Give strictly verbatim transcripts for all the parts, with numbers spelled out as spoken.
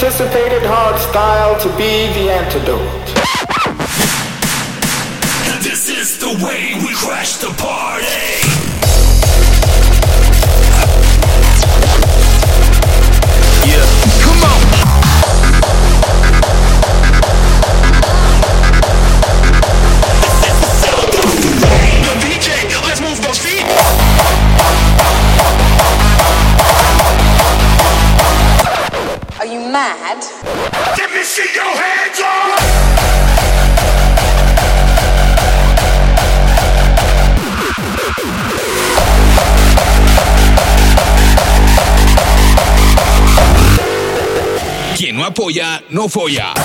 anticipated hardstyle to be the antidote. This is the way we crash the party. Yeah, come on. Yo, D J, let's move those feet. Are you mad? Let me see your hands up. Quien no apoya, no folla.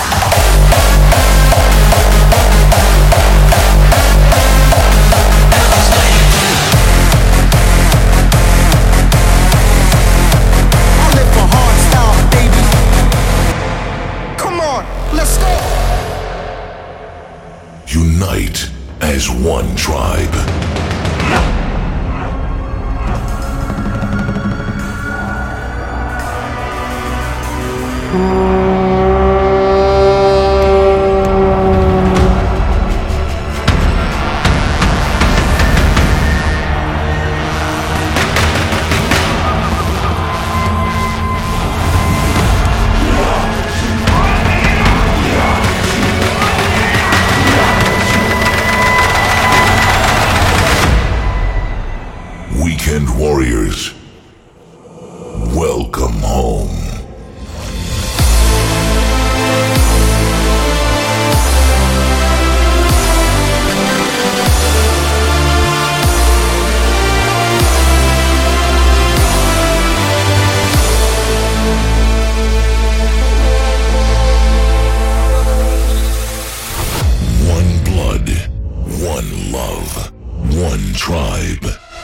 Unite as one tribe. Weekend Warriors, welcome home. One blood, one love, one tribe.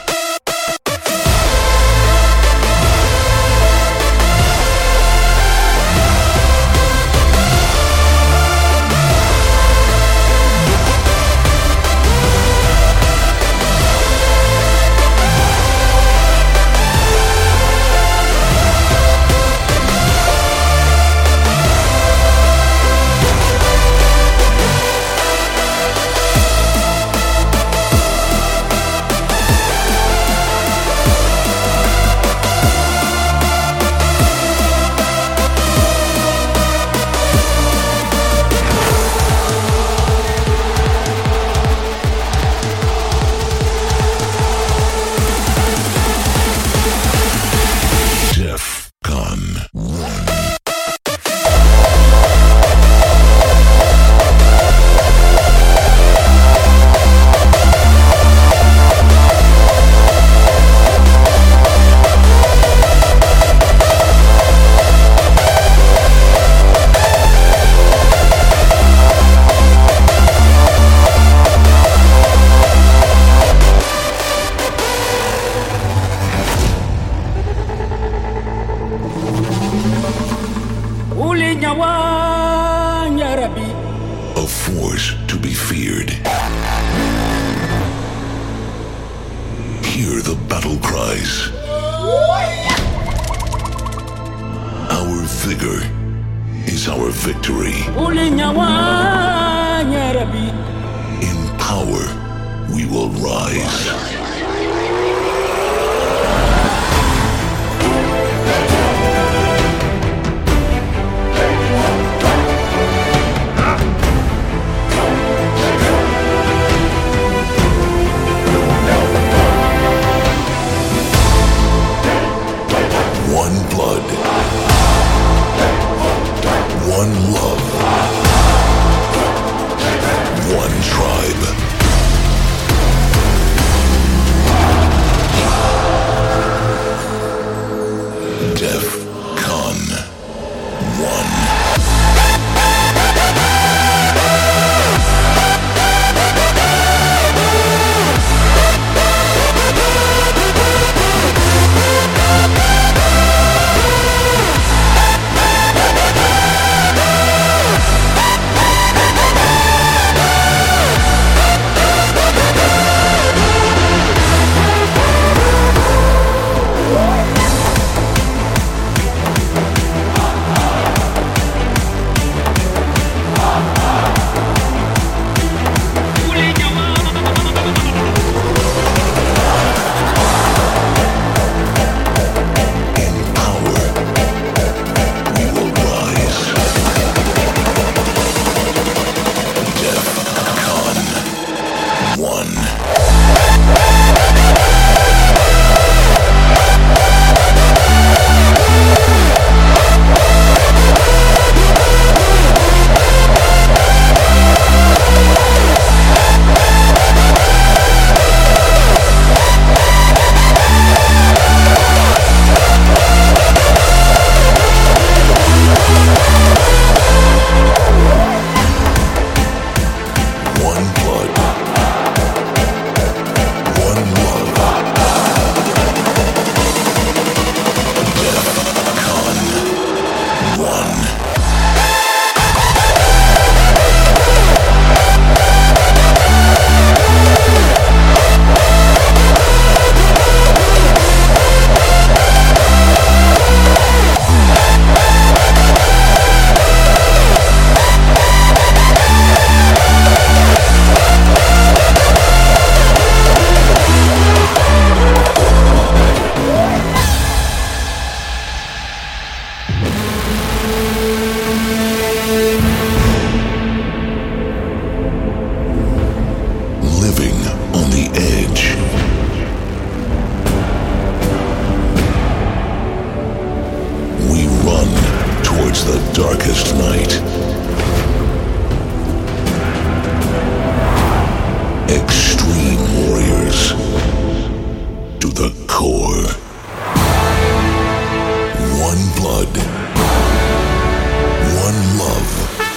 A force to be feared. Hear the battle cries. Our vigor is our victory. In power, we will rise. One blood, one love, one tribe. brings the darkest night. Extreme warriors to the core. One blood. One love.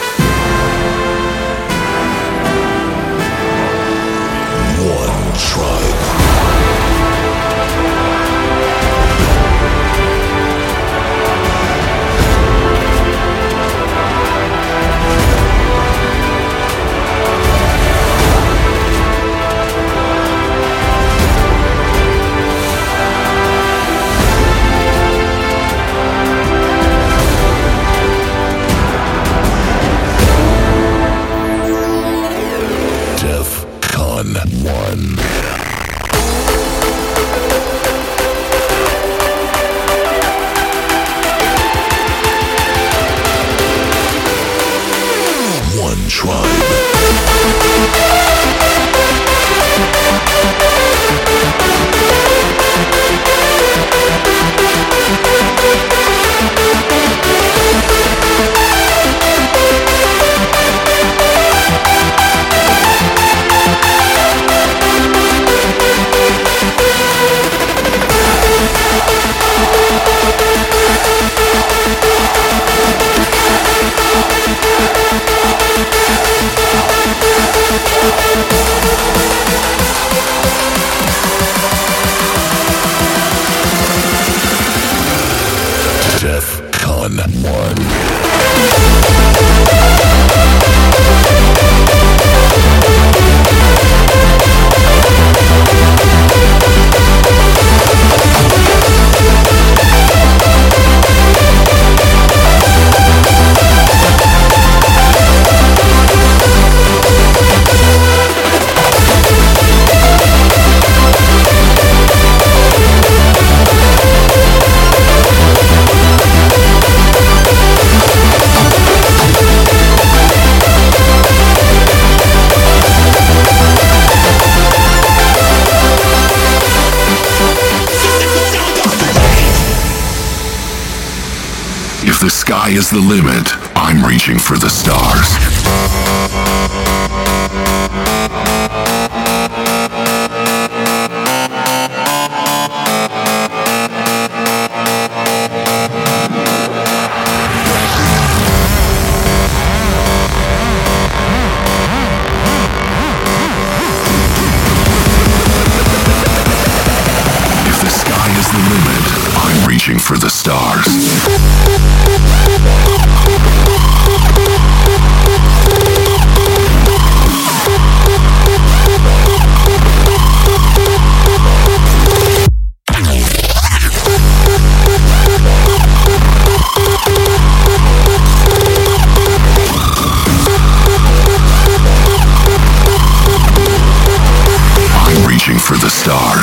One tribe. DEFCON one. One tribe. DEFCON one. If the sky is the limit, I'm reaching for the stars. If the sky is the limit, I'm reaching for the stars. I'm reaching for the stars.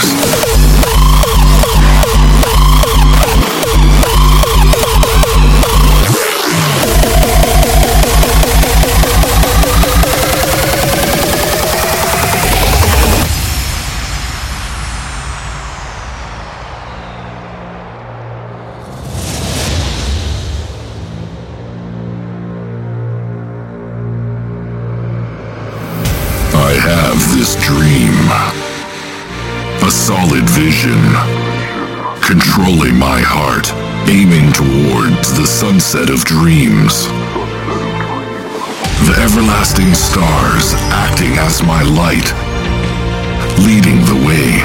I have this dream, a solid vision, controlling my heart, aiming towards the sunset of dreams. The everlasting stars acting as my light, leading the way.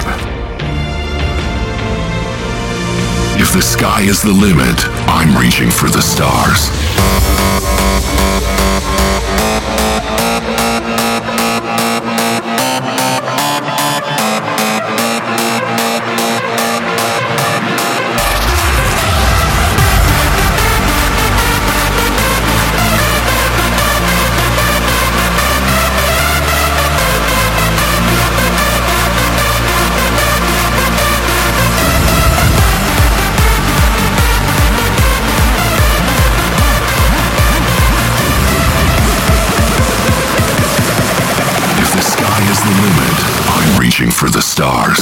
If the sky is the limit, I'm reaching for the stars. Reaching for the stars.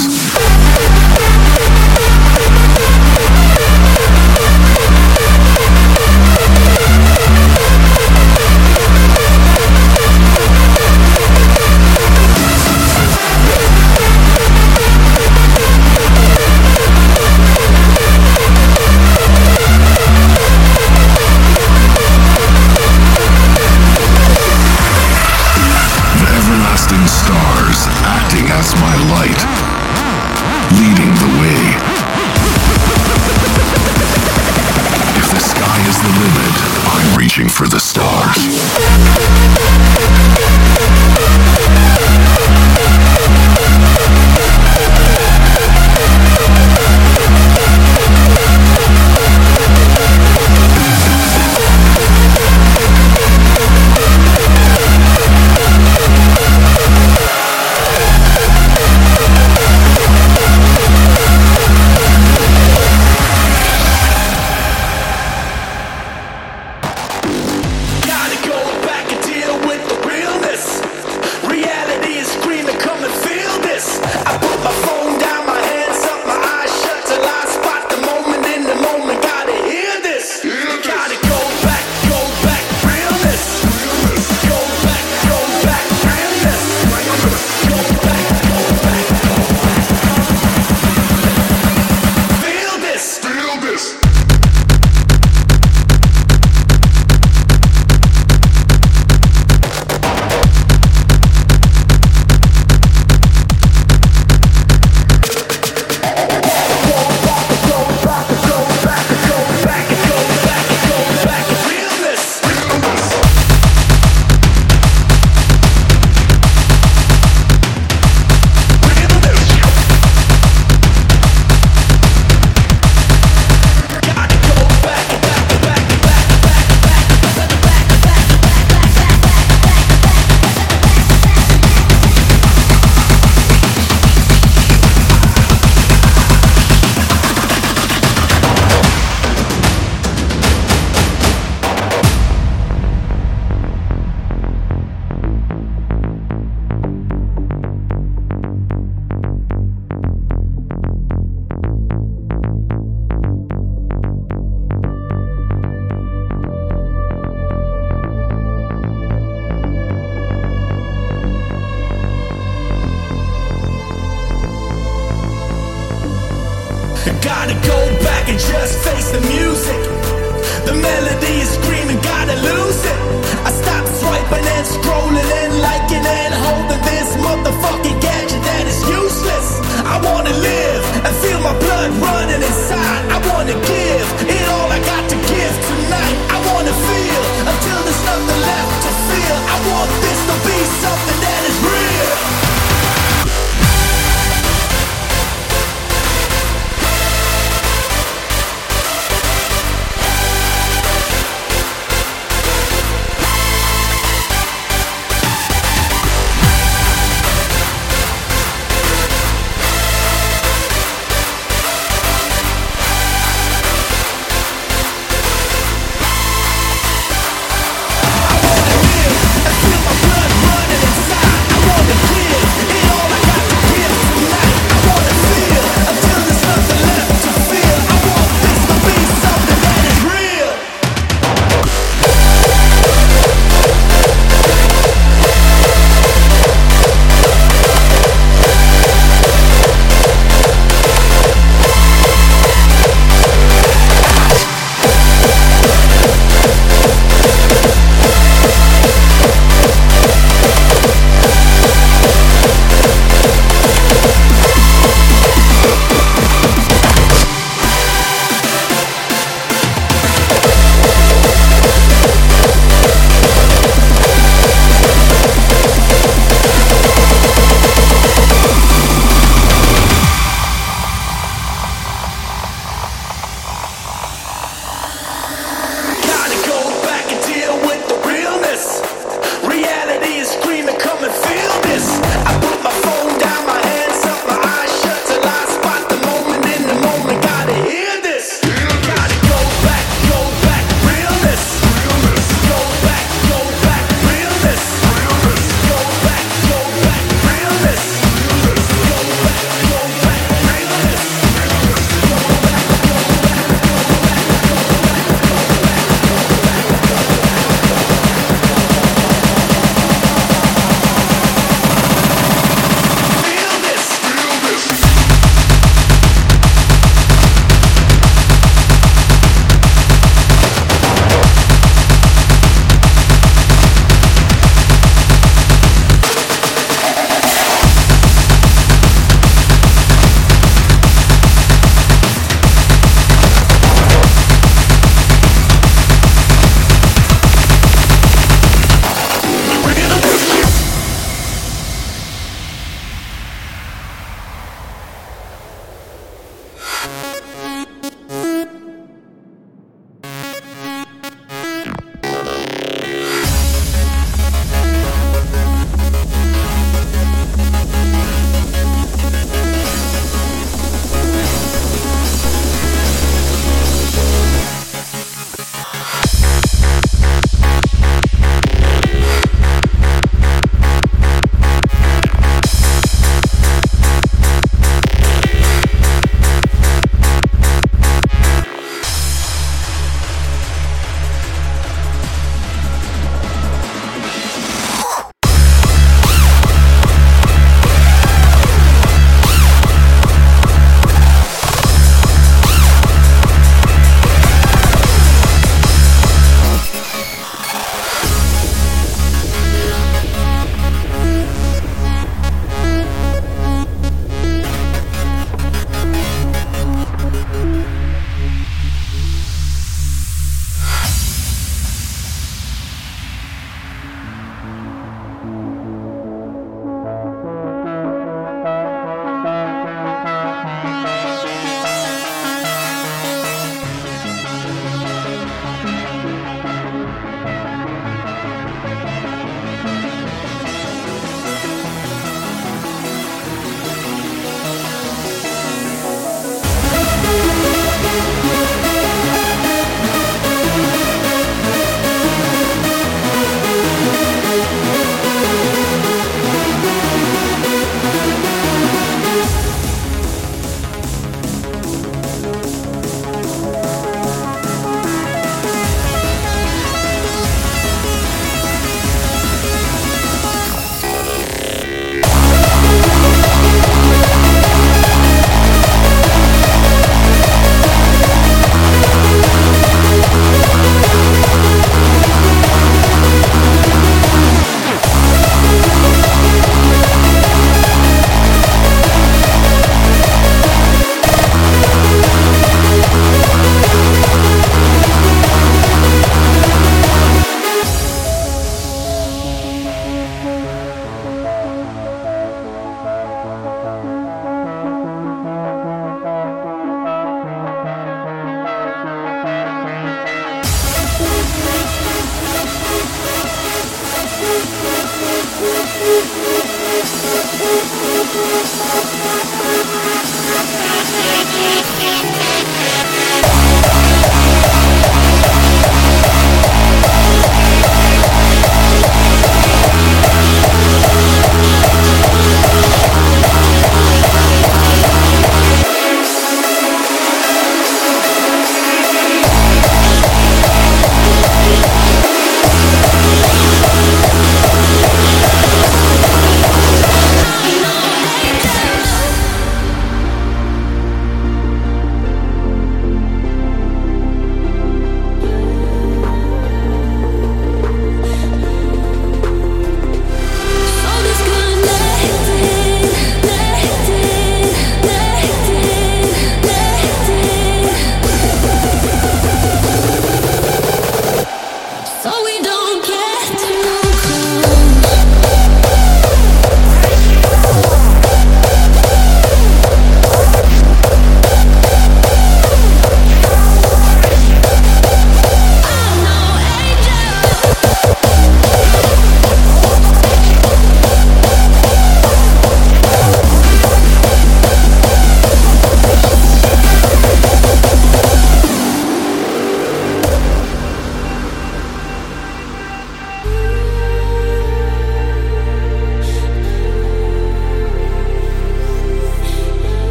reaching for the stars. Gotta go back and just face the music. The melody is screaming, gotta lose it. I stop swiping and scrolling and liking and holding this motherfucking gadget that is useless. I wanna live and feel my blood running inside. I wanna give it all I got to give tonight. I wanna feel until there's nothing left to feel. I want this to be something that is real.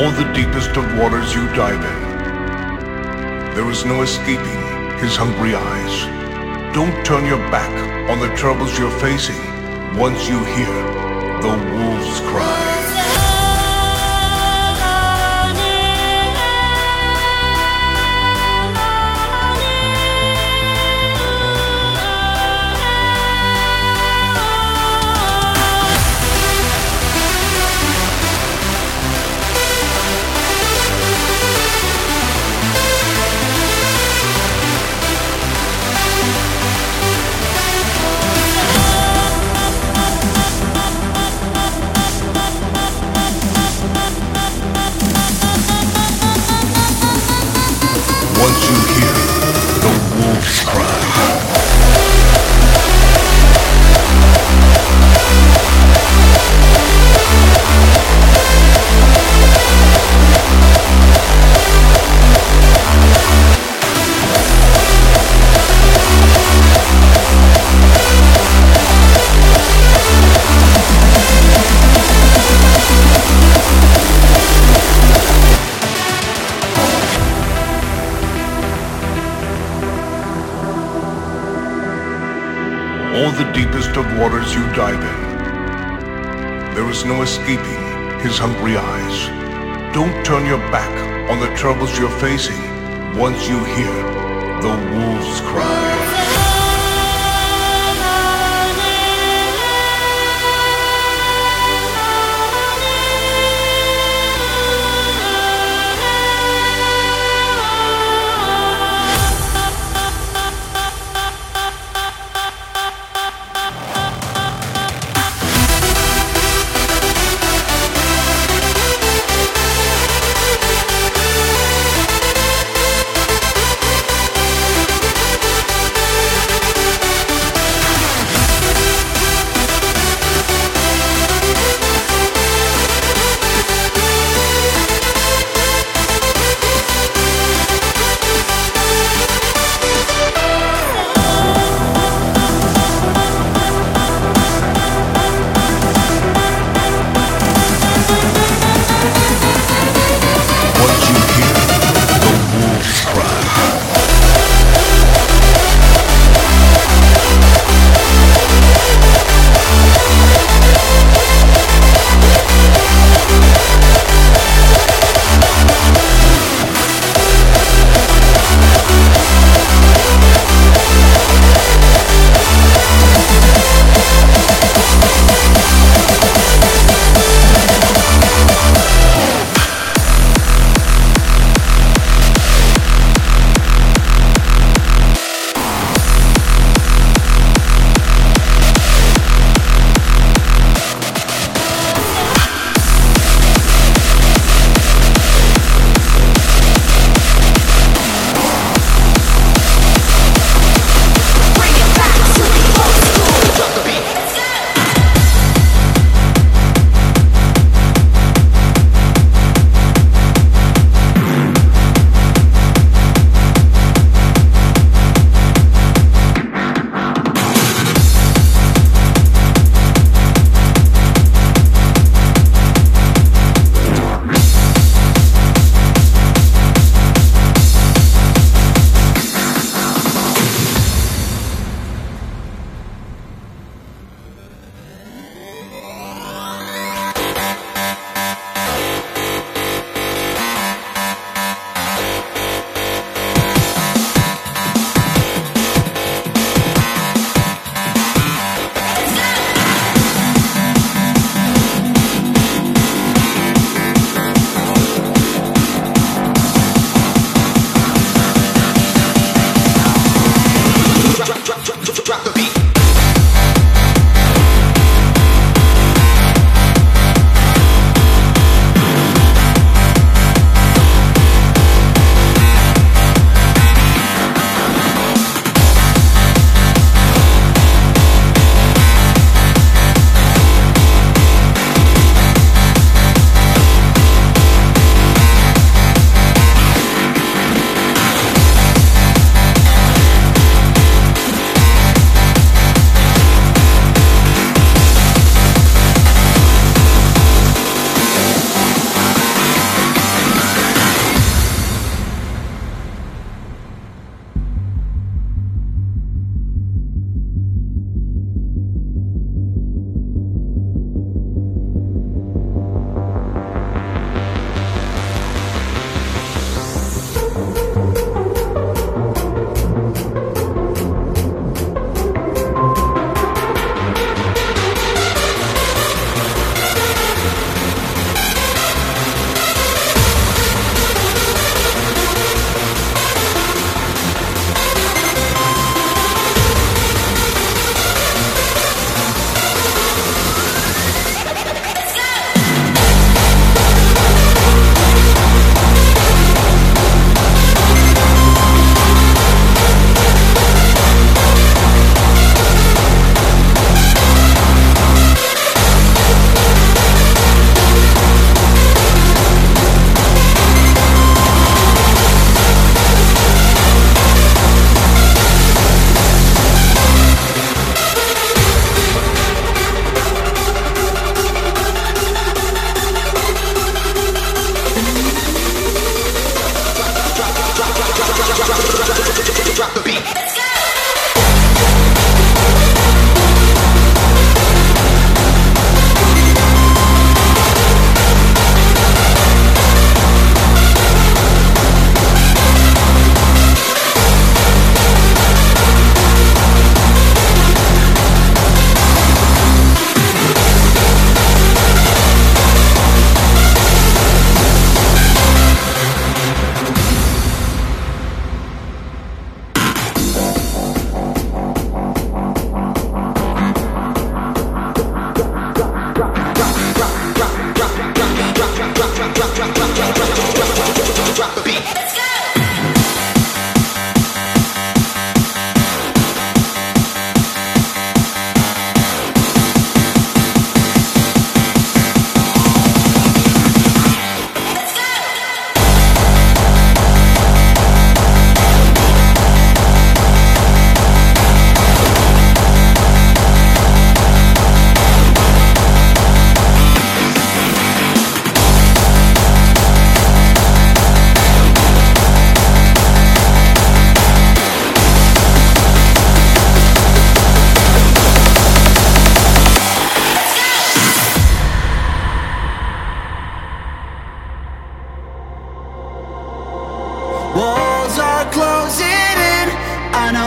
All the deepest of waters you dive in, there is no escaping his hungry eyes. Don't turn your back on the troubles you're facing once you hear the wolves cry. Once you hear the wolves cry. All the deepest of waters you dive in, there is no escaping his hungry eyes. Don't turn your back on the troubles you're facing once you hear the wolves cry.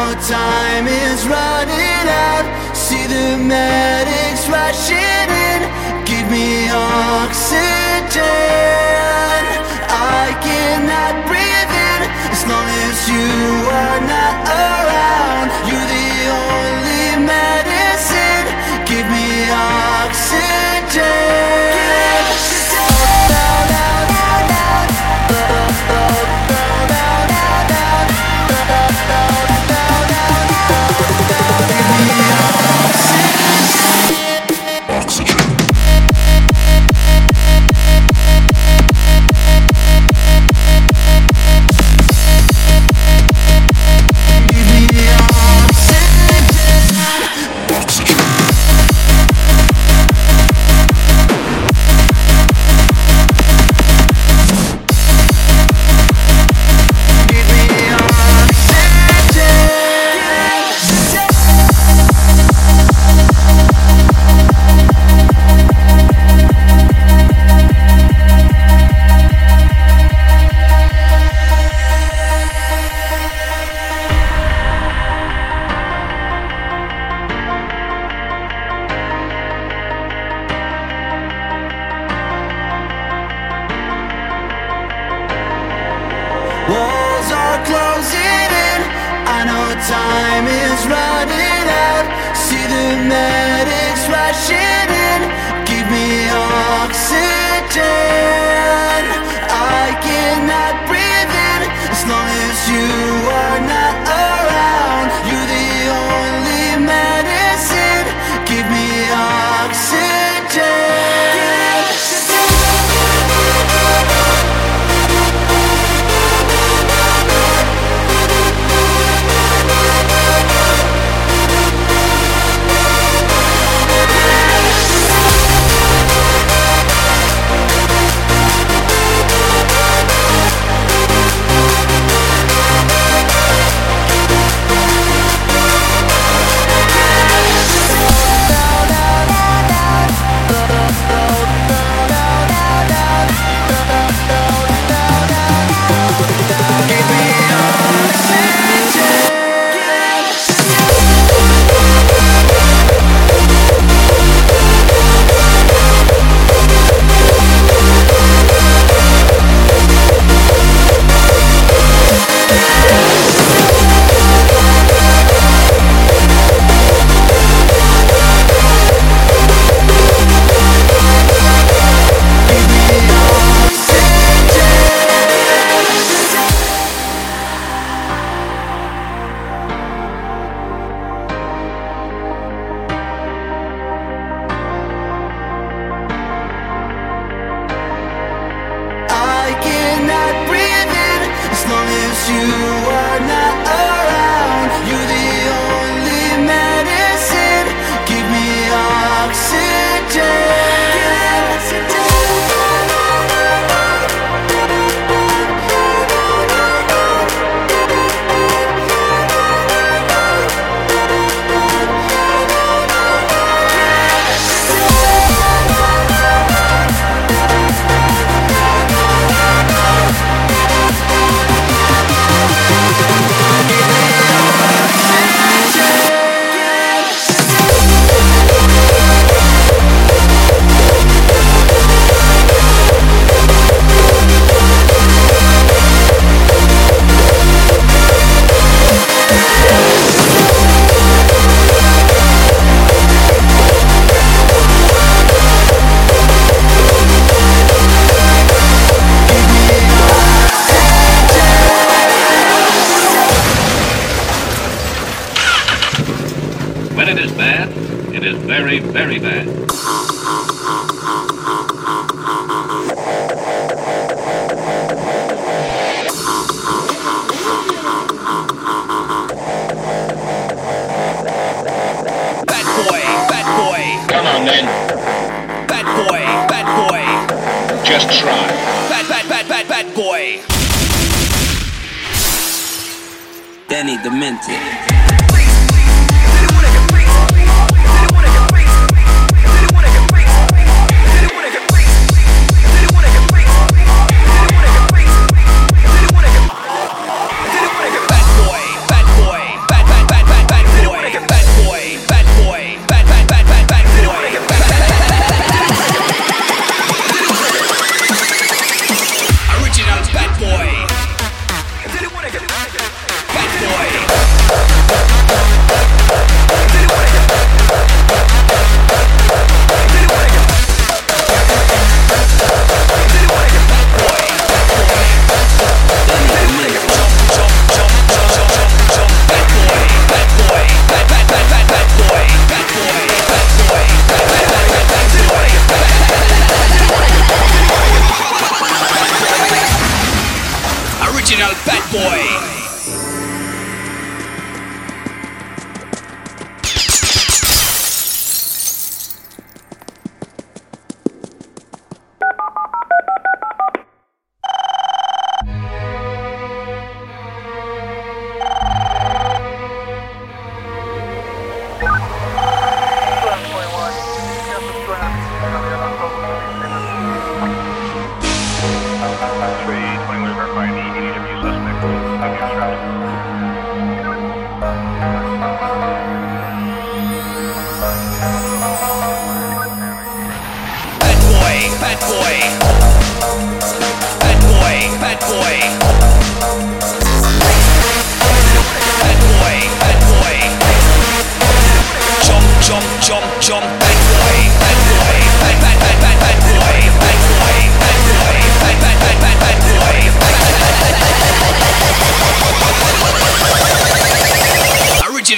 time is running out. See the medics rushing in. Give me oxygen. I cannot breathe in as long as you are not around. You're the only medicine. Give me oxygen. Walls are closing in. I know time is running out. See the medics rushing in. Give me oxygen. I cannot breathe in as long as you are not around. You're the only medicine. Give me oxygen. When it is bad, it is very, very bad. Bad boy, bad boy. Come on then. Bad boy, bad boy. Just try. Bad, bad, bad, bad, bad boy. Danny Demented. Bad boy, bad boy, bad, bad,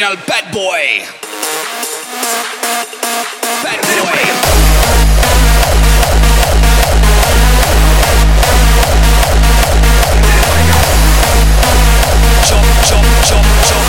Original bad boy. Bad boy. Jump, jump, jump, jump.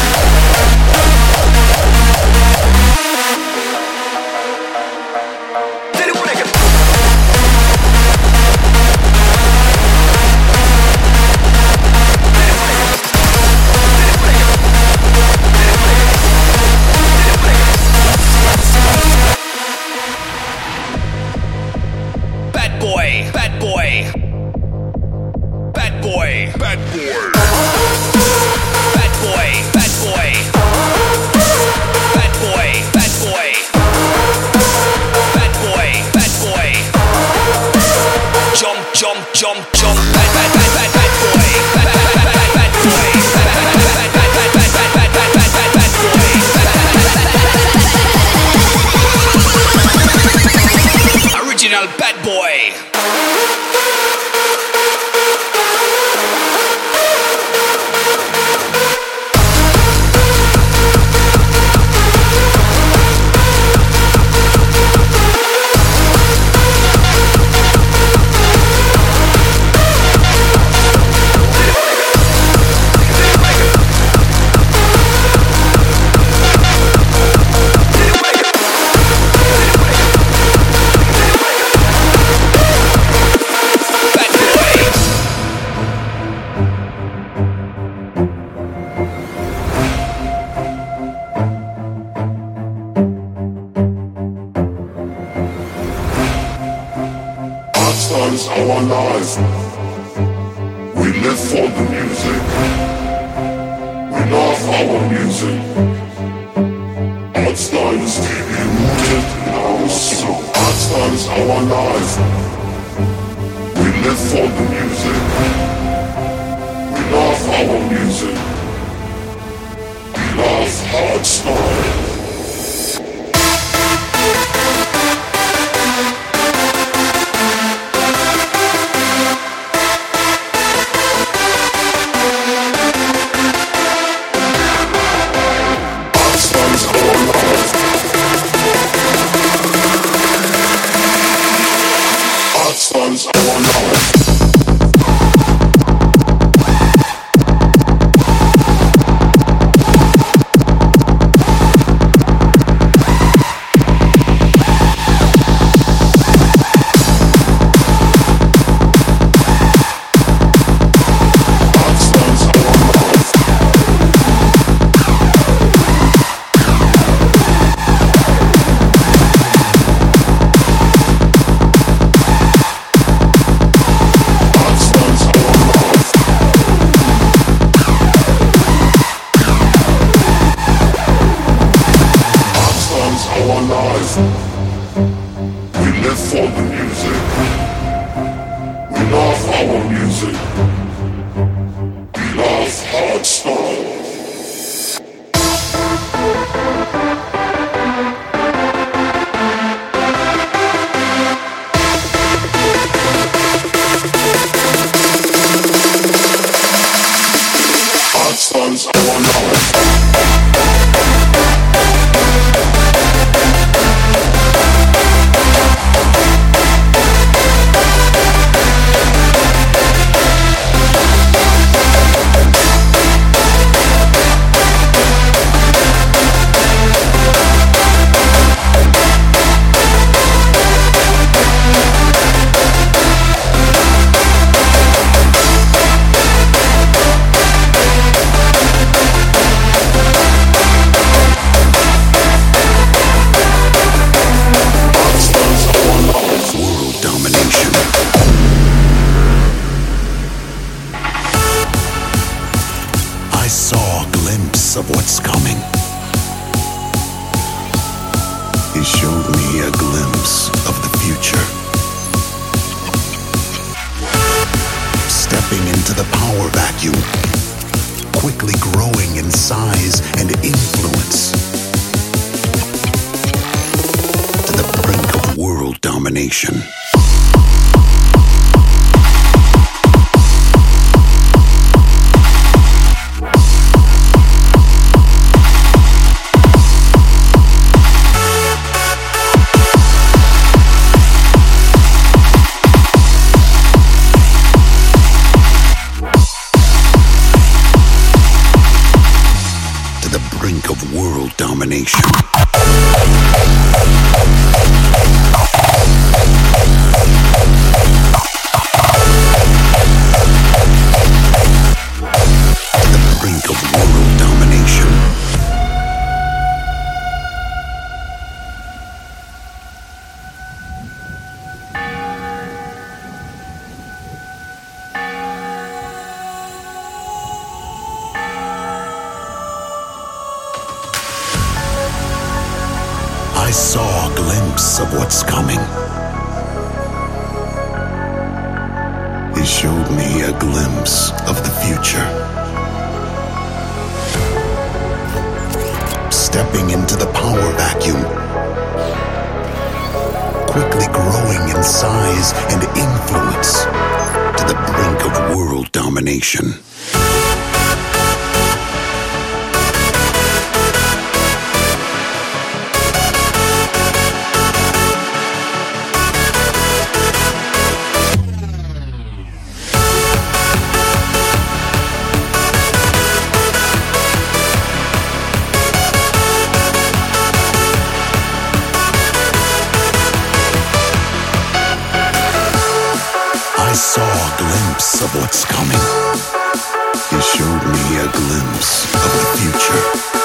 Bad boy, bad boy, bad boy, bad boy, bad boy, bad boy, bad boy, bad boy, bad boy, bad boy. Jump, jump, jump, jump. Bad, bad, bad, bad, bad boy. Bad, bad, bad, bad, bad boy. Bad, bad, bad, bad, bad, bad, bad, bad, bad, bad, bad, bad boy. Original bad boy. Is our life. We live for the music. We love our music. Art style is deeply rooted in our soul. Art style is our life. We live for the music. We love our music. We love art style. Domination. brink of world domination. To the brink of world domination. I saw a glimpse of what's coming. He showed me a glimpse of the future. Stepping into the power vacuum, quickly growing in size and influence to the brink of world domination. Of what's coming. He showed me a glimpse of the future.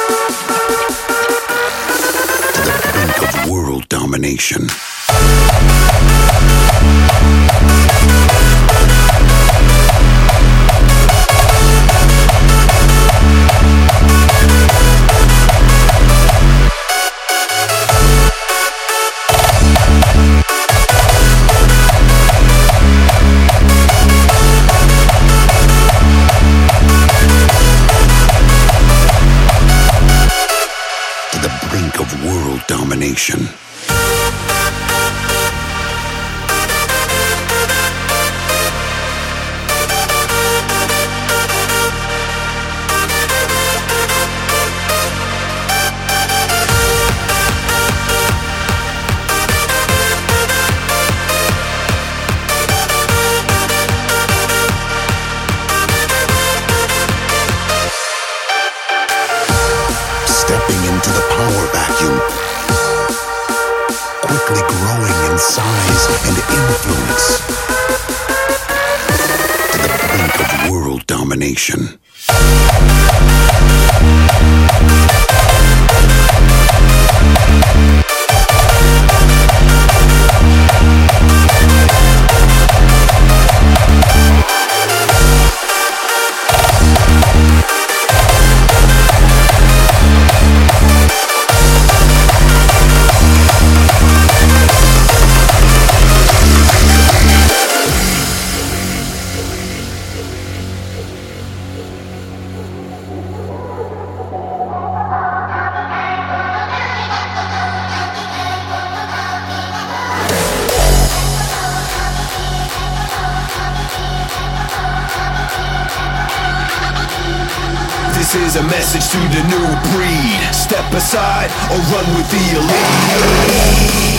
To the brink of world domination. Domination. Stepping into the power vacuum, quickly growing in size and influence to the brink of world domination. This is a message to the new breed. Step aside or run with the elite.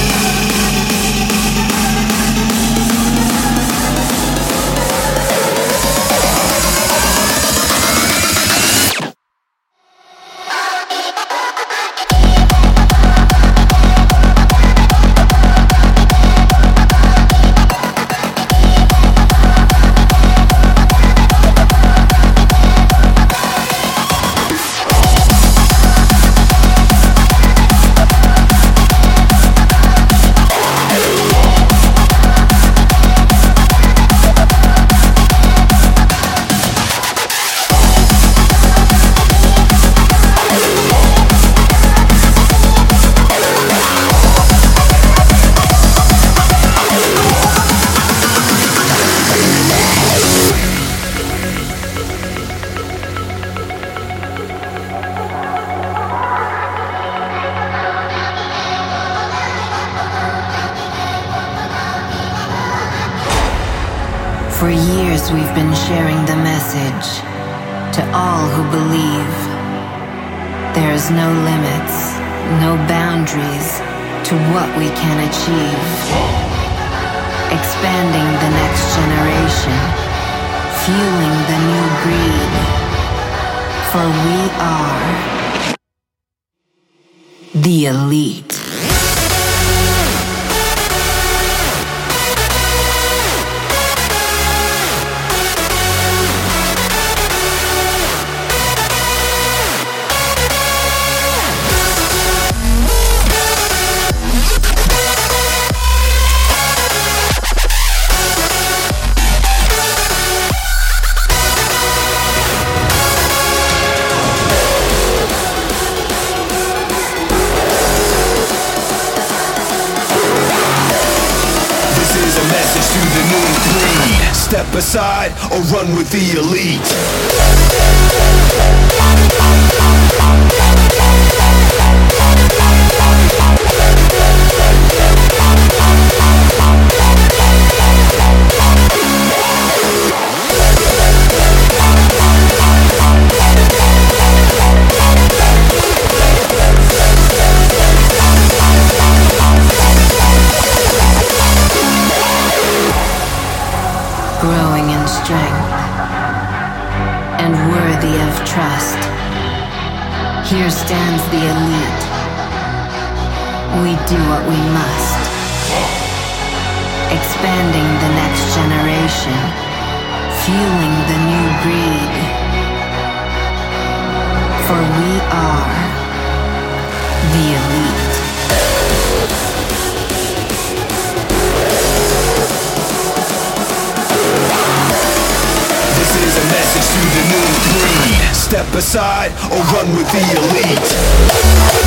For years we've been sharing the message to all who believe. There's no limits, no boundaries to what we can achieve. Expanding the next generation, fueling the new breed. For we are The elite. Step aside or run with the elite. Growing in strength and worthy of trust. Here stands the elite. We do what we must. Expanding the next generation, fueling the new breed. For we are the elite. This is a message to the new breed. Step aside or run with the elite.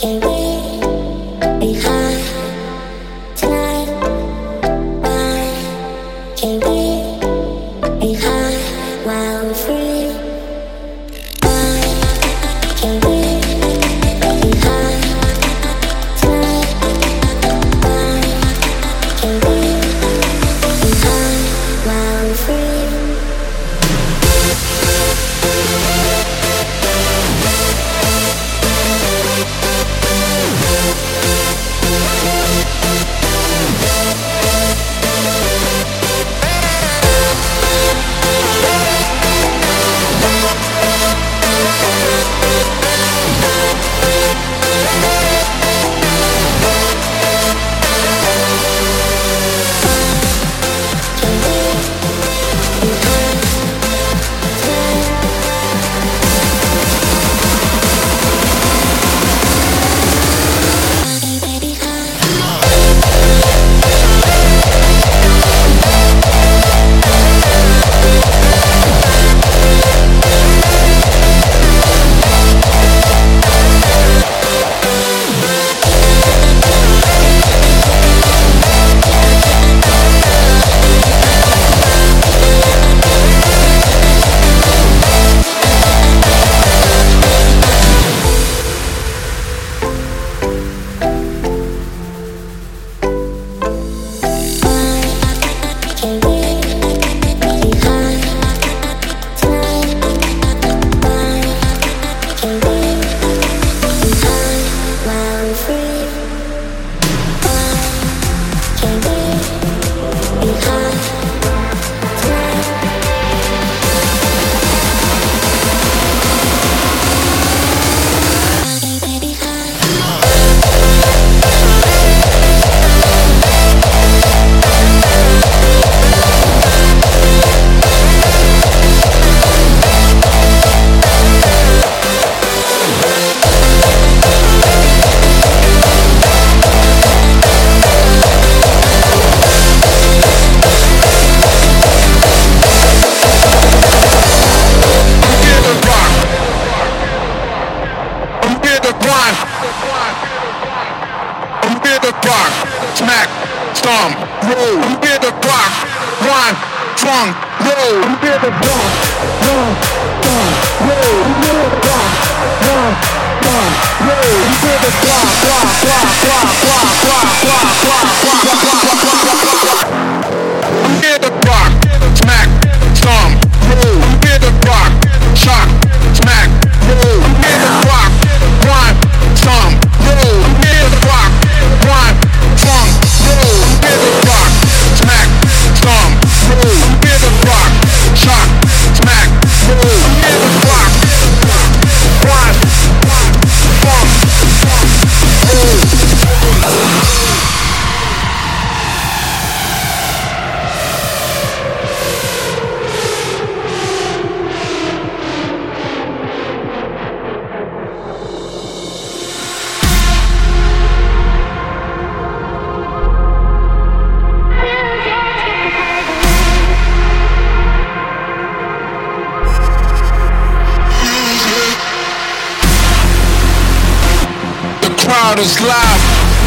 Is live.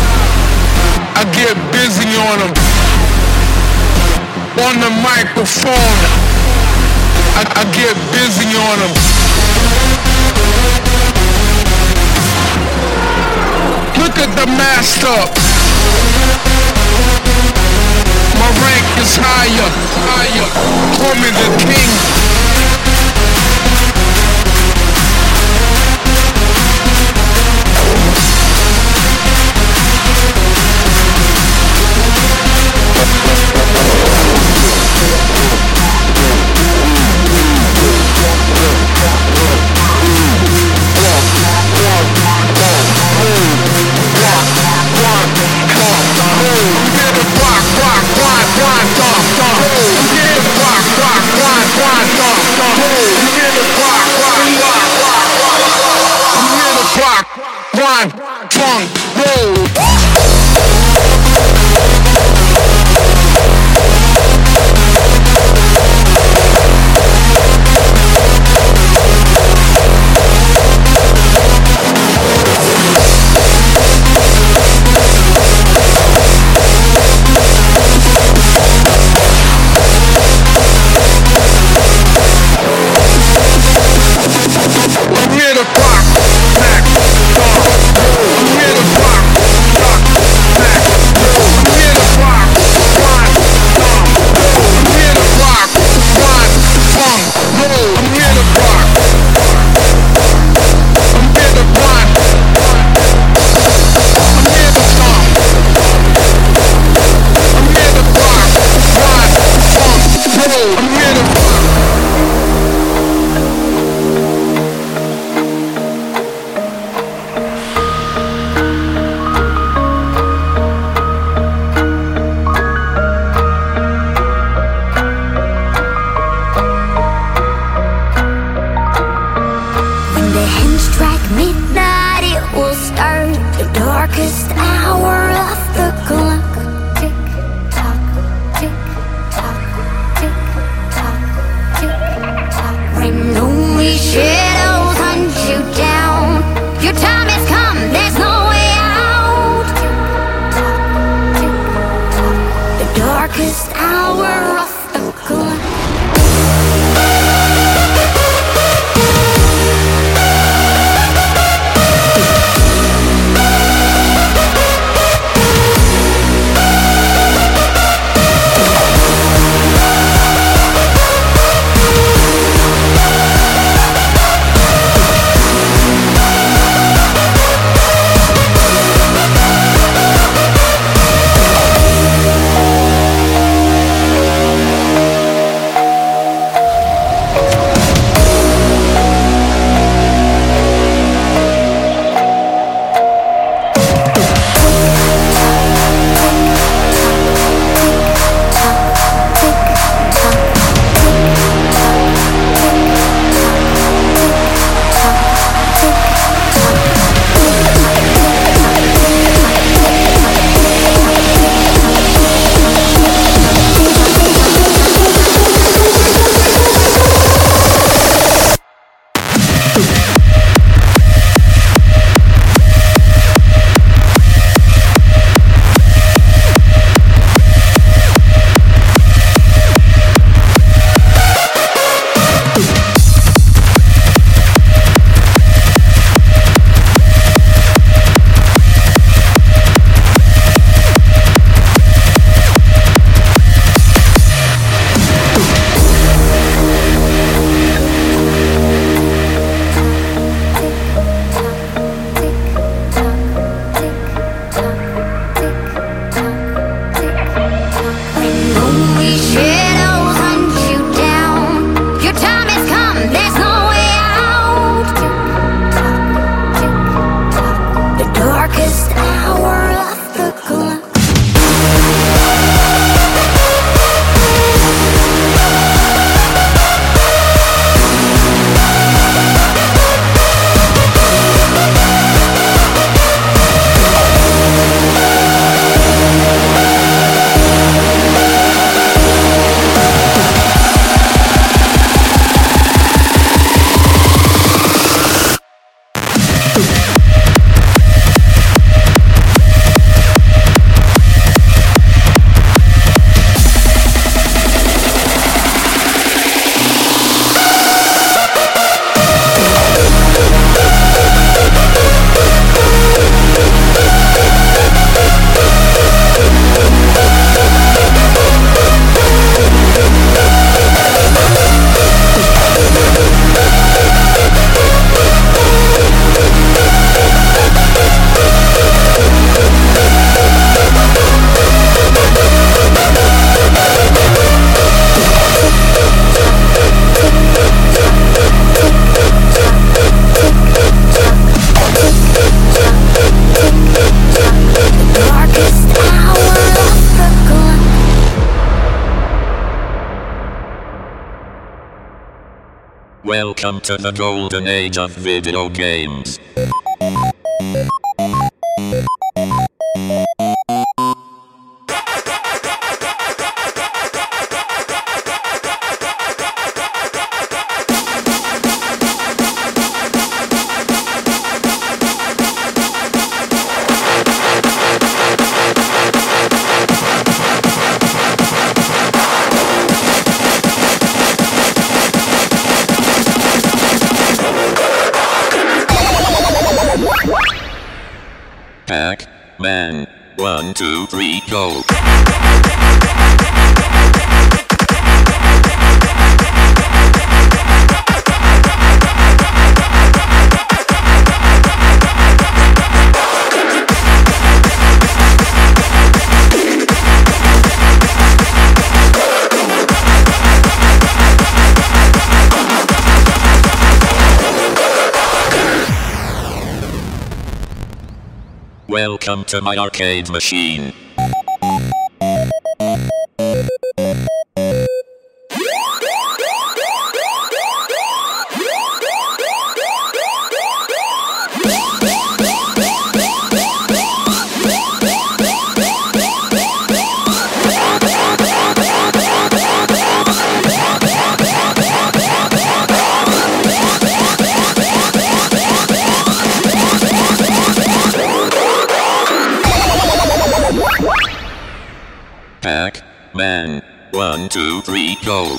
I get busy on them. On the microphone, I, I get busy on them. Look at the master. My rank is higher, higher. Call me the king. One, funk, roll. Welcome to the golden age of video games. Pac-Man. One, two, three, go. Welcome to my arcade machine. Pac-Man. One, two, three, go.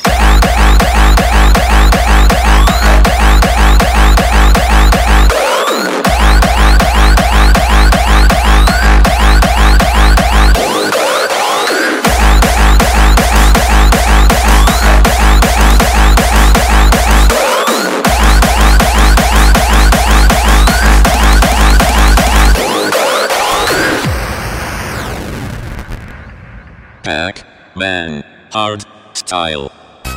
Pac-Man. Hard style.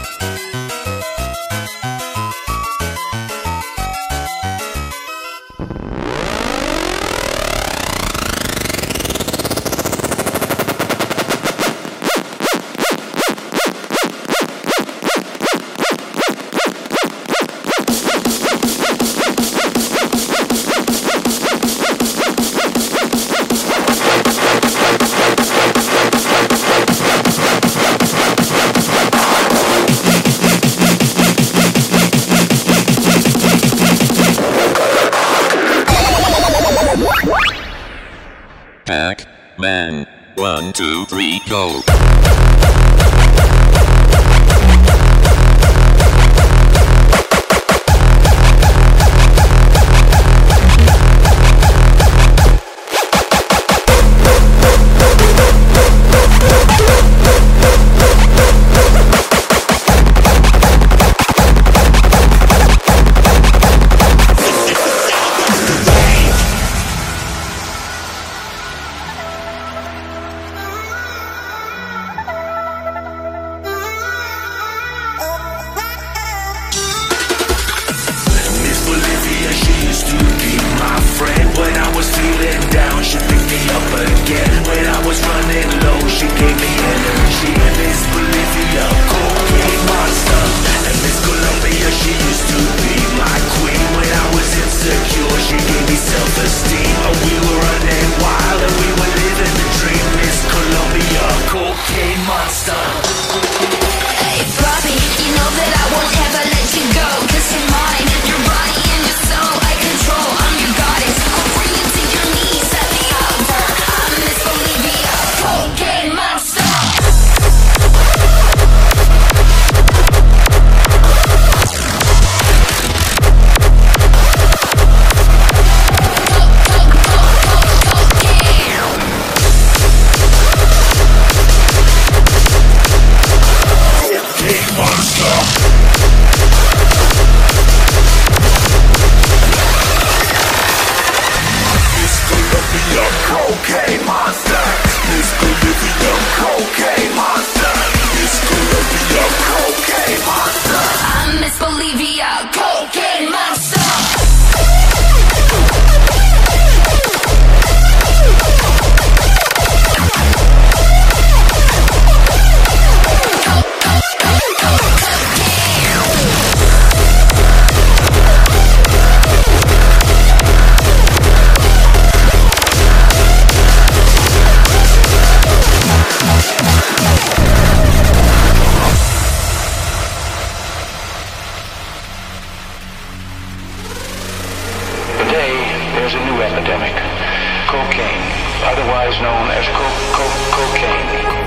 Pac-Man. One, two, three, go. there's a new epidemic. Cocaine, otherwise known as co- co- cocaine.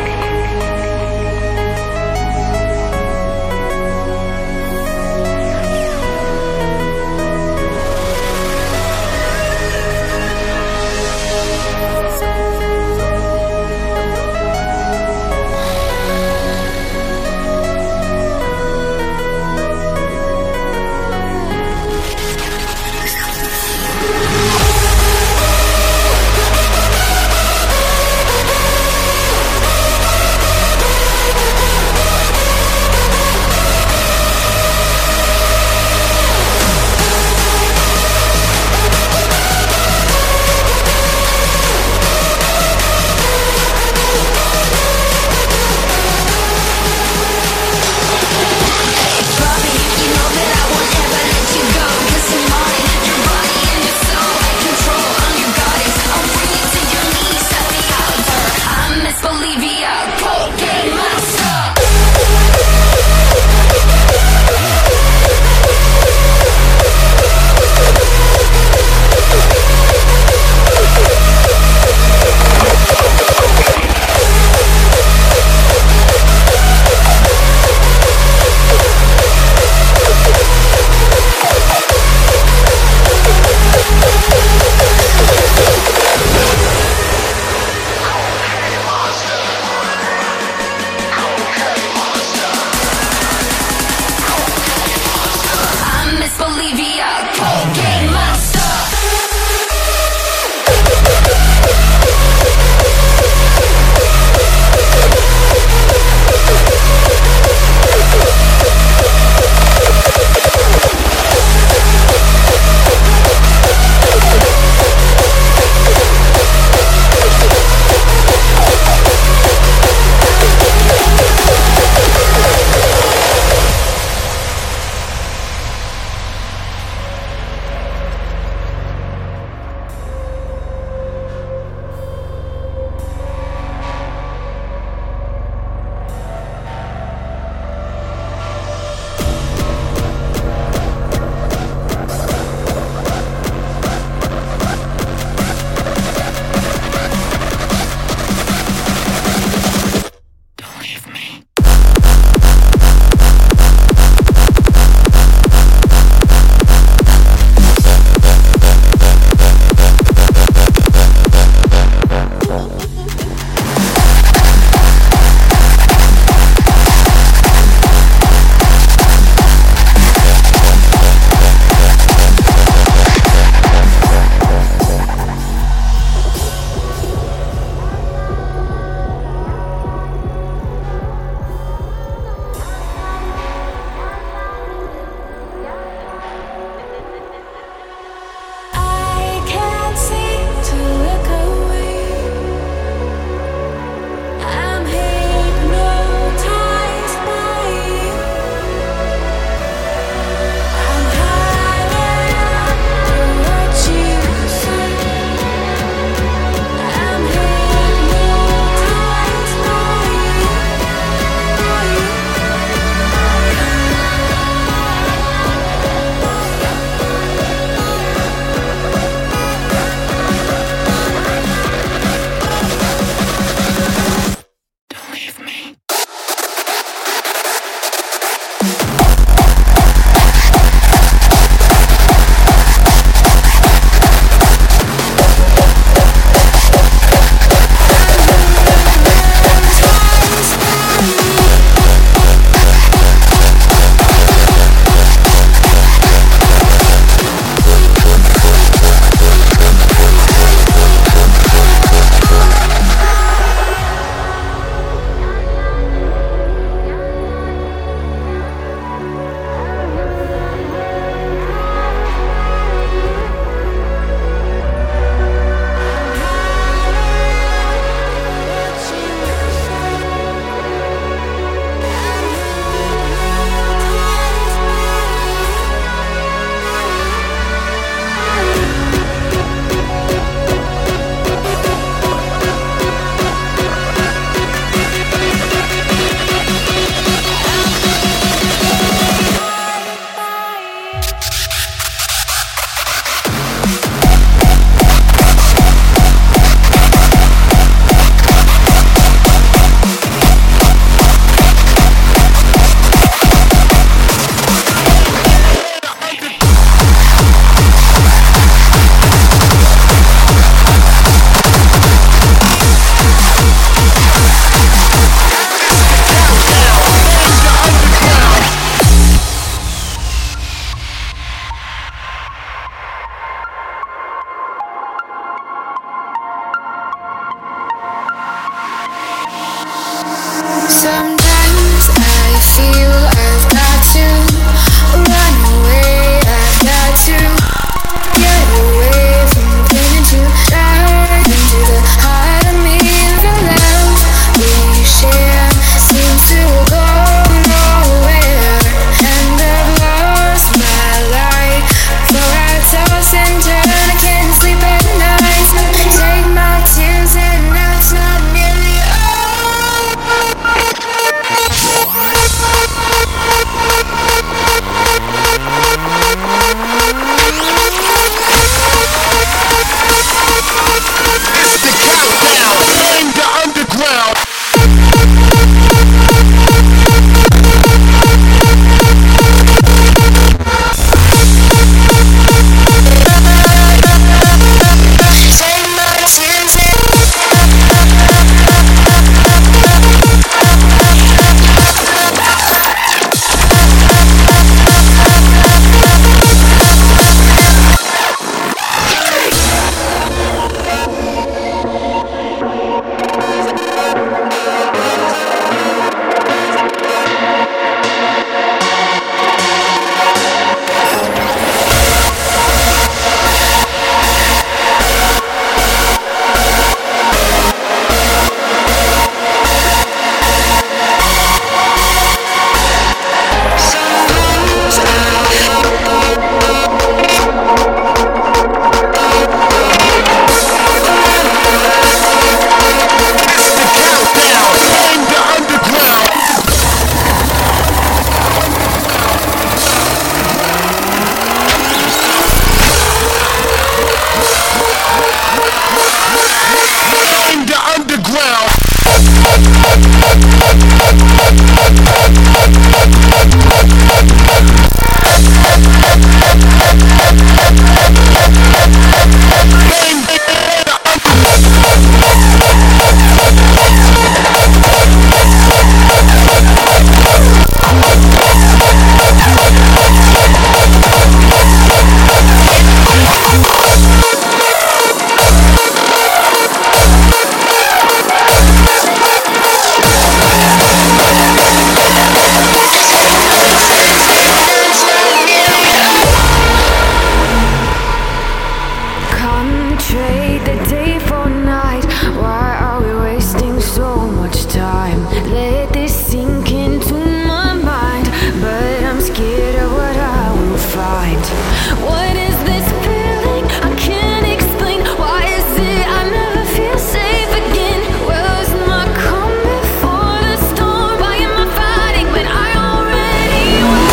trade the day for night. Why are we wasting so much time? Let this sink into my mind, but I'm scared of what I will find. What is this feeling? I can't explain. Why is it I never feel safe again? Was my calm before the storm? Why am I fighting when I already won?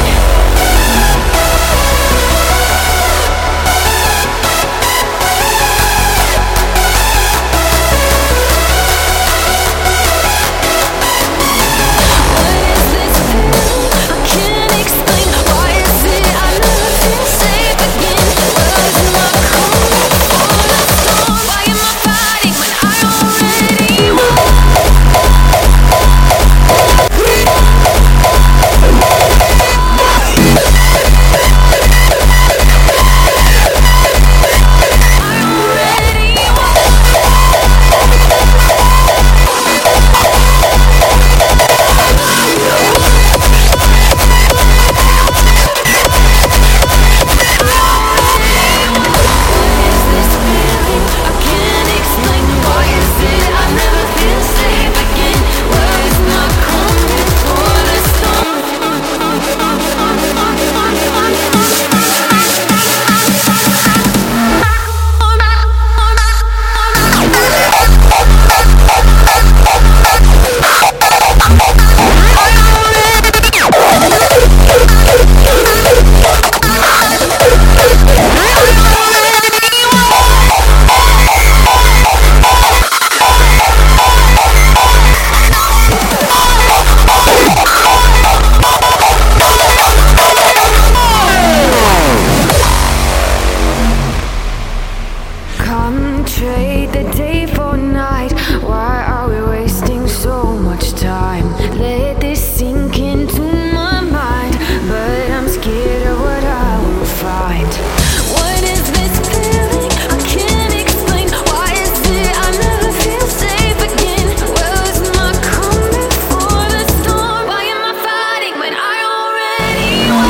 Trade the day for night. Why are we wasting so much time? Let this sink into my mind, but I'm scared of what I will find. What is this feeling? I can't explain. Why is it I never feel safe again? Was my calm before the storm? Why am I fighting when I already won?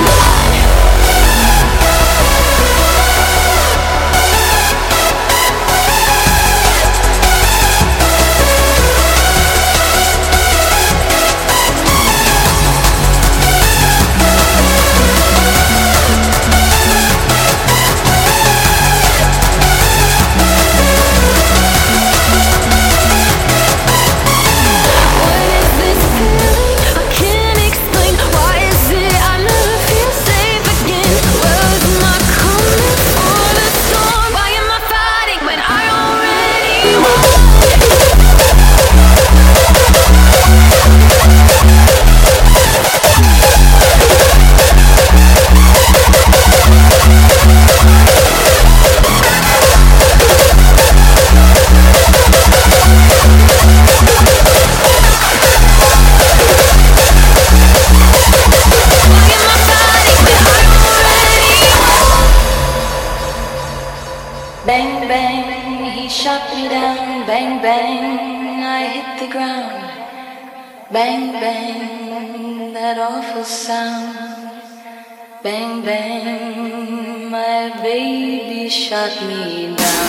Bang, bang, he shot me down. Bang, bang, I hit the ground. Bang, bang, that awful sound. Bang, bang, my baby shot me down.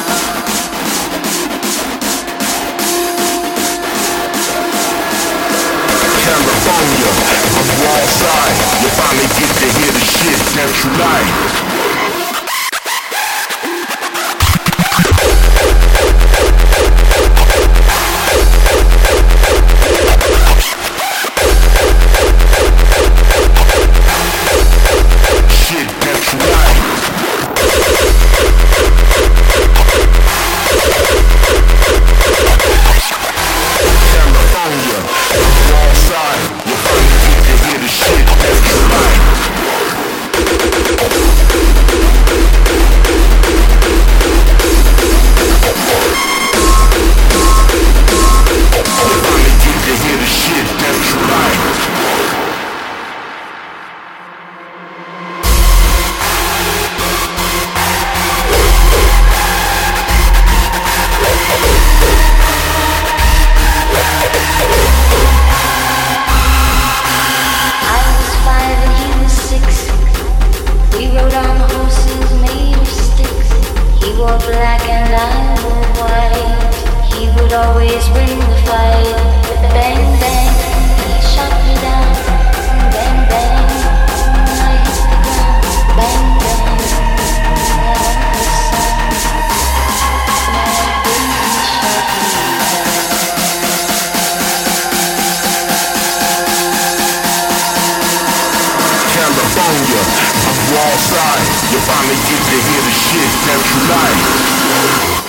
California, I'm wall side. You finally get to hear the shit that you like. Shit, that's right. and I will wait. He would always win the fight. Bang, bang, he shot me down. Bang, bang, I hit the ground. Bang, bang, that awful sound. My baby shot me down. California, I'm wall side. You finally get to hear the shit that you like.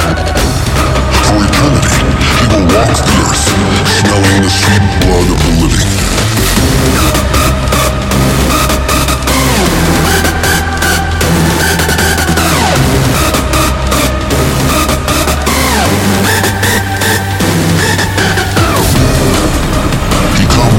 For eternity, he will walk the earth, smelling the sweet blood of the living.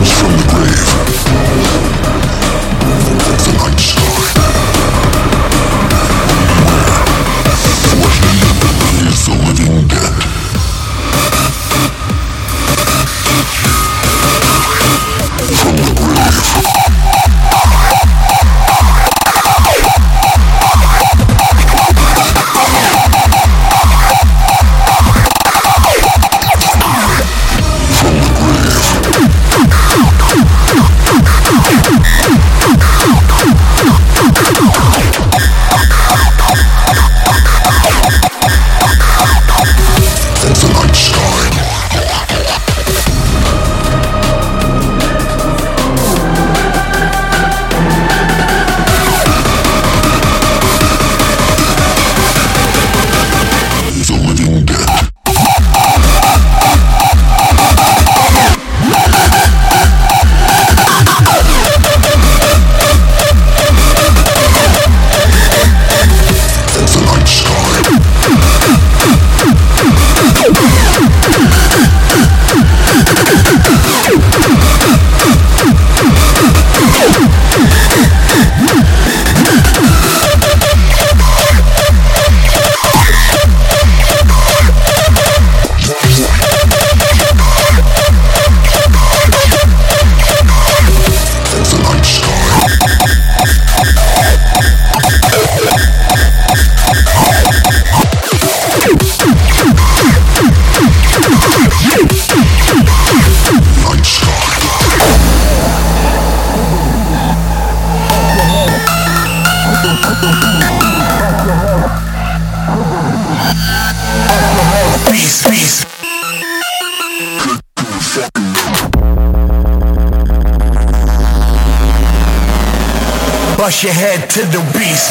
Bust your head to the beast.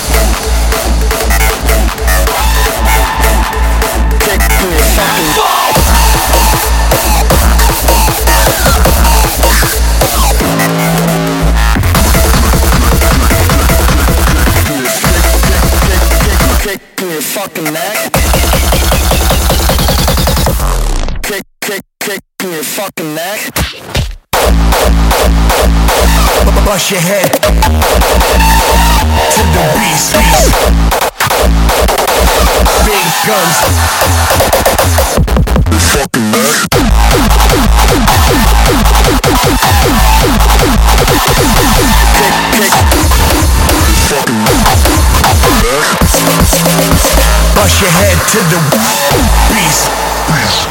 Kick to your fucking balls. Kick to your fucking neck. Kick, kick, kick to your fucking neck. Bust your head to the beast, beast. Big guns. Fucking neck. Kick, kick. Fucking neck. Bust your head to the beast, beast.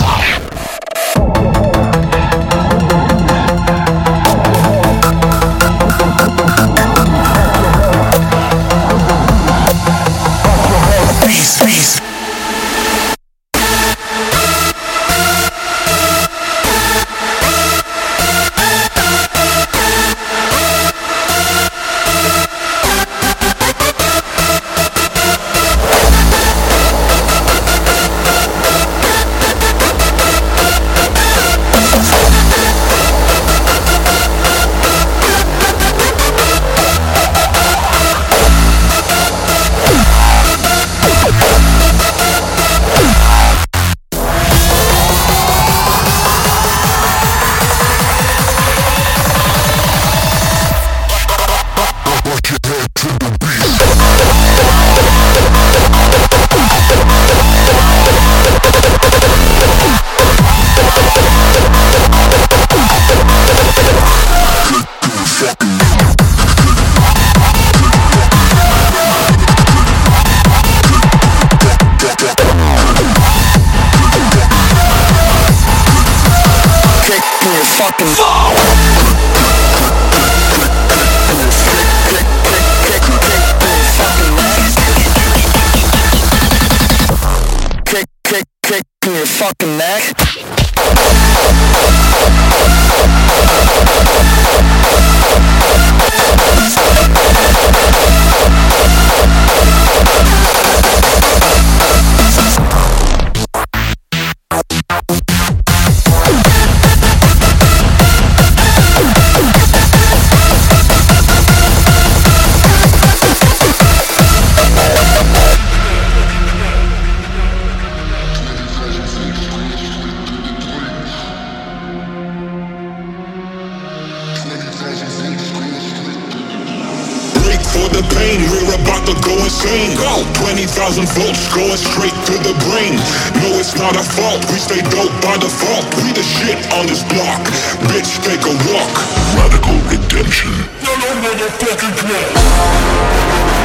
Fucking kick, kick, kick to your fucking neck. for the pain. We're about to go insane. Go! twenty thousand volts going straight to the brain. No, it's not our fault. We stay dope by default. We the shit on this block. Bitch, take a walk. Radical redemption. No, no, motherfucking play.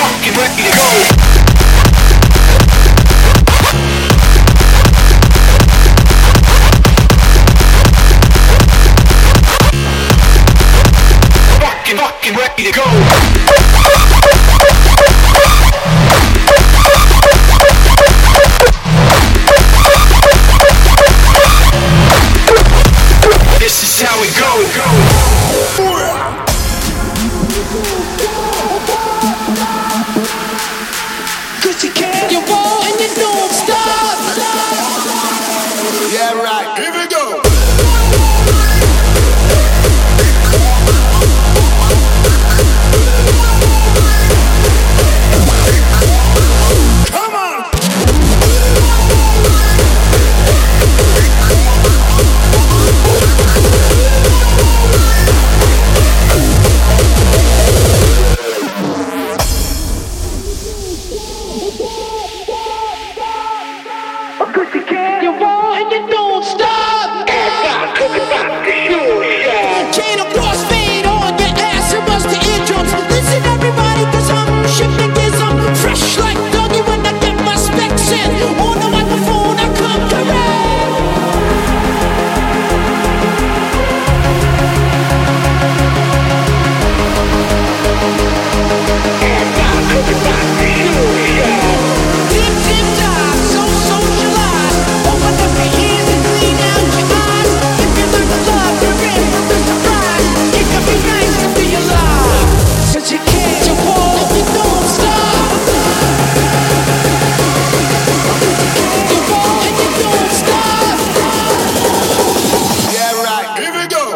fucking ready to go. Fucking, fucking ready to go. This is how it go, go. Cause you can't, you won't, and you don't stop. Yeah, right, here we go. Come on. Cause you can't, you won't, and you don't stop. Chain of crossfade on your ass, it was the eardrums. Listen everybody, cause I'm shifting gears, I'm fresh like doggy when I get my specs in. On the microphone I come correct. Dip, dip, dive, so socialized. Open up your ears and clean out your eyes. If you learn to love, you're in for the surprise. It can be nice to be alive. Cause you can't, you won't, and you don't stop. You won't, and you don't stop. Yeah, right, here we go.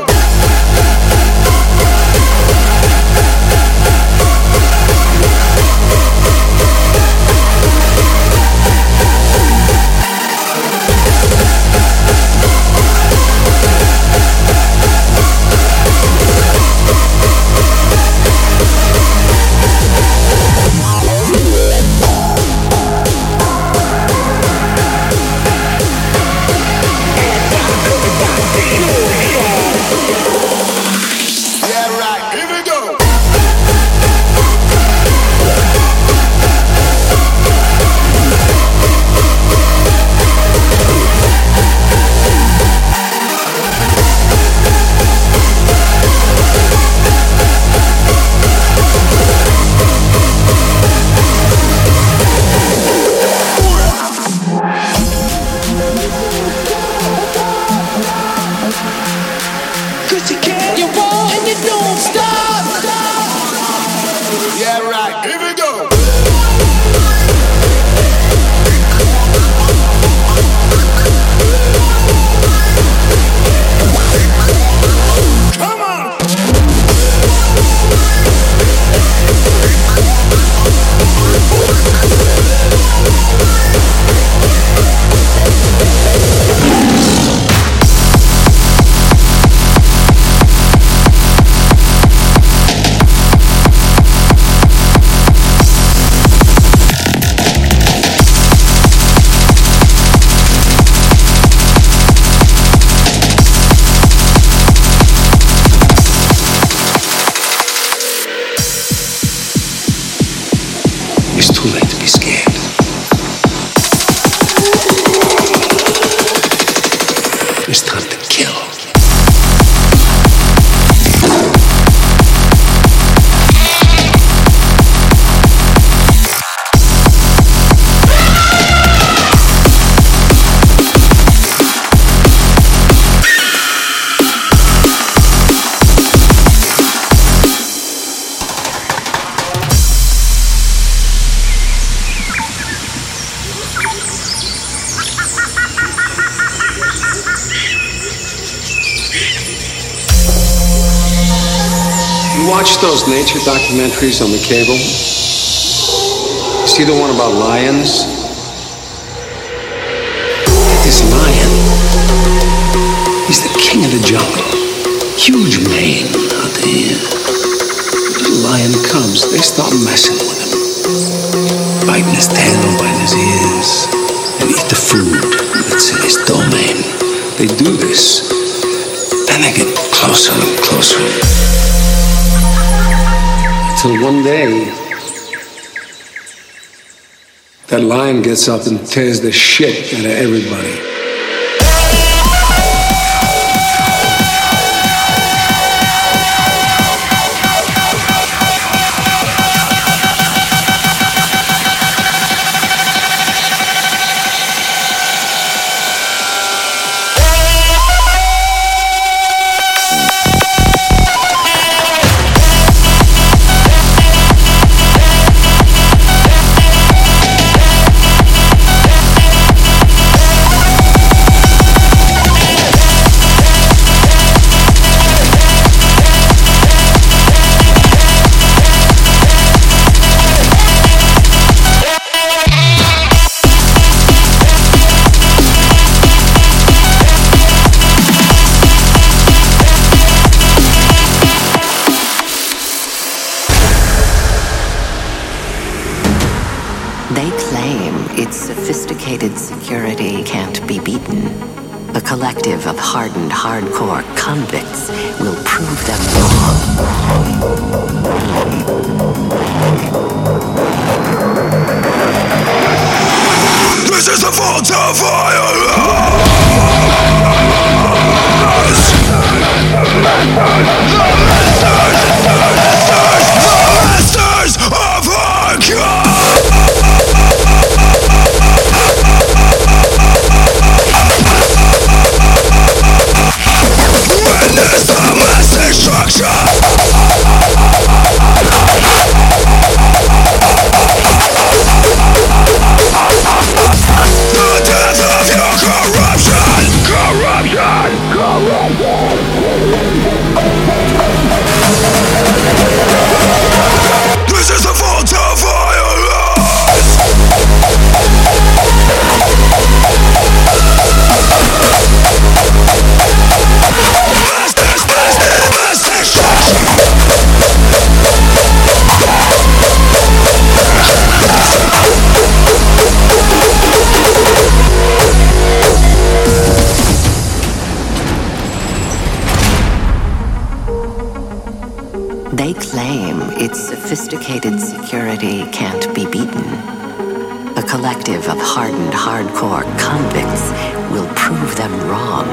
Yeah, right, here we go. Cause you can't, you won't, and you don't stop. Yeah, right, here we go. Come on. It's too late to be scared. It's time to kill. You watch those nature documentaries on the cable? You see the one about lions? This lion, he's the king of the jungle. Huge mane out there. Little lion cubs, they start messing with him. Biting his tail, biting his ears, and eat the food that's in his domain. They do this, then they get closer and closer. Until one day, that lion gets up and tears the shit out of everybody. Sophisticated security can't be beaten. A collective of hardened hardcore convicts will prove them wrong. This is the fault of violence! The masters of hardcore! Witness the mass destruction. The death of your corruption. Corruption. Corruption. This is the fault of violence. They claim its sophisticated security can't be beaten. A collective of hardened hardcore convicts will prove them wrong.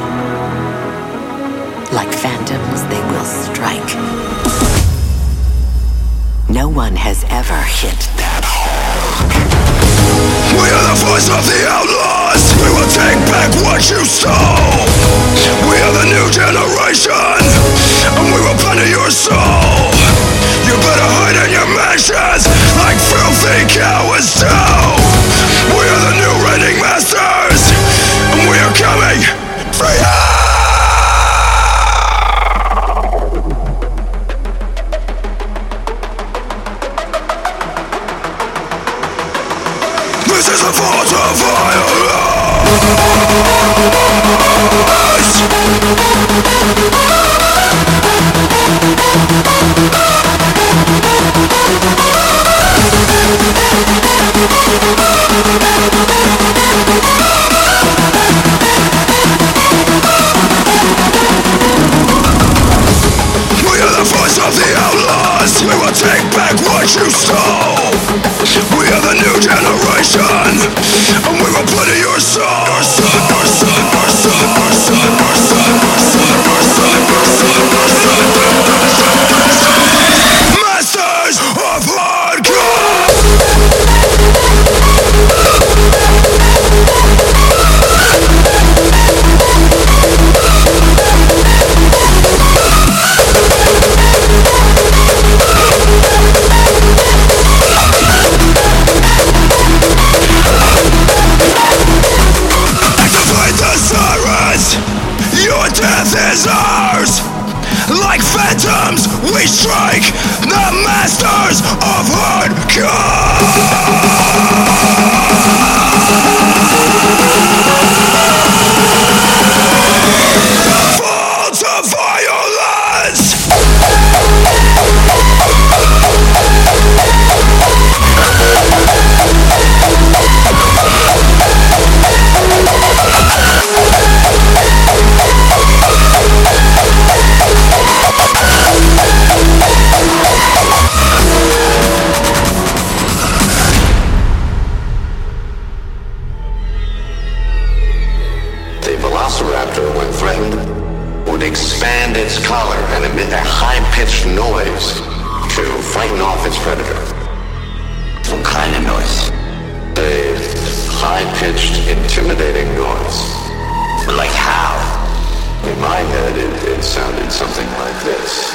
Like phantoms, they will strike. No one has ever hit that hard. We are the voice of the outlaws. We will take back what you stole. We are the new generation, and we will plunder your soul. You better hide in your mansions like filthy cowards do. We are the new reigning masters, and we are coming for you. This is the fault of violence. We are the voice of the outlaws. We will take back what you stole. We are the new generation, and we will put in your soul. Your son, your son, your son, your son, your son, your son, your son, your son, your son. Masters of hardcore. Your death is ours. Like phantoms, we strike the masters of hardcore. Fault of violence. off its predator. What kind of noise? A high-pitched, intimidating noise. Like how? In my head, it, it sounded something like this.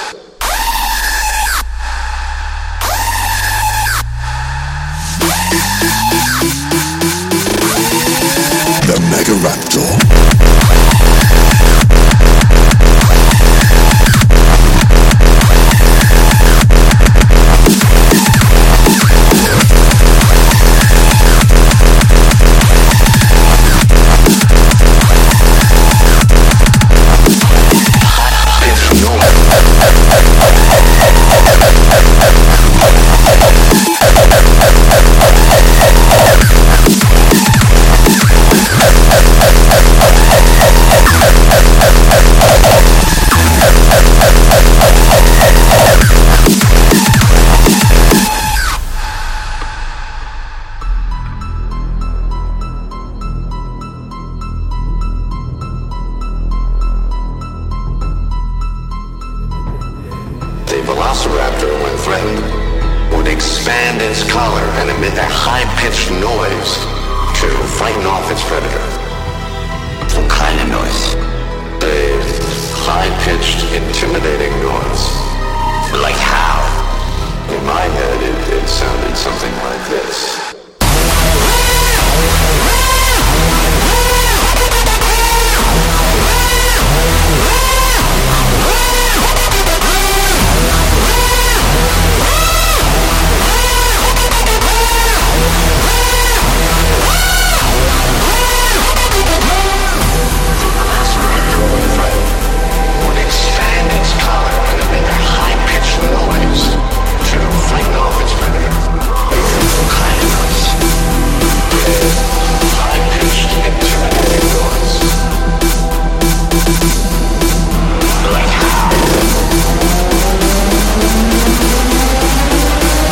The Megaraptor. Velociraptor, when threatened, would expand its collar and emit a high-pitched noise to frighten off its predator. What kind of noise? A high-pitched, intimidating noise. Like how? In my head, it, it sounded something like this.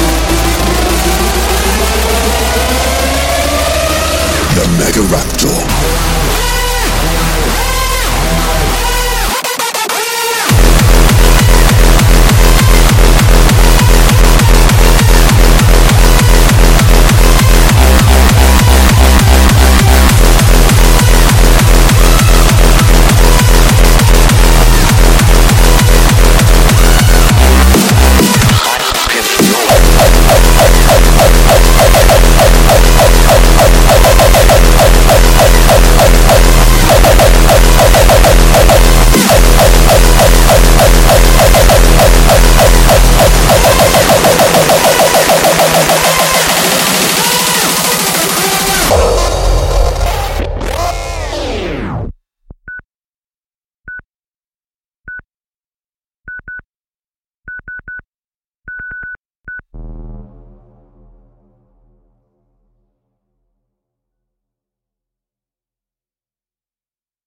The Megaraptor.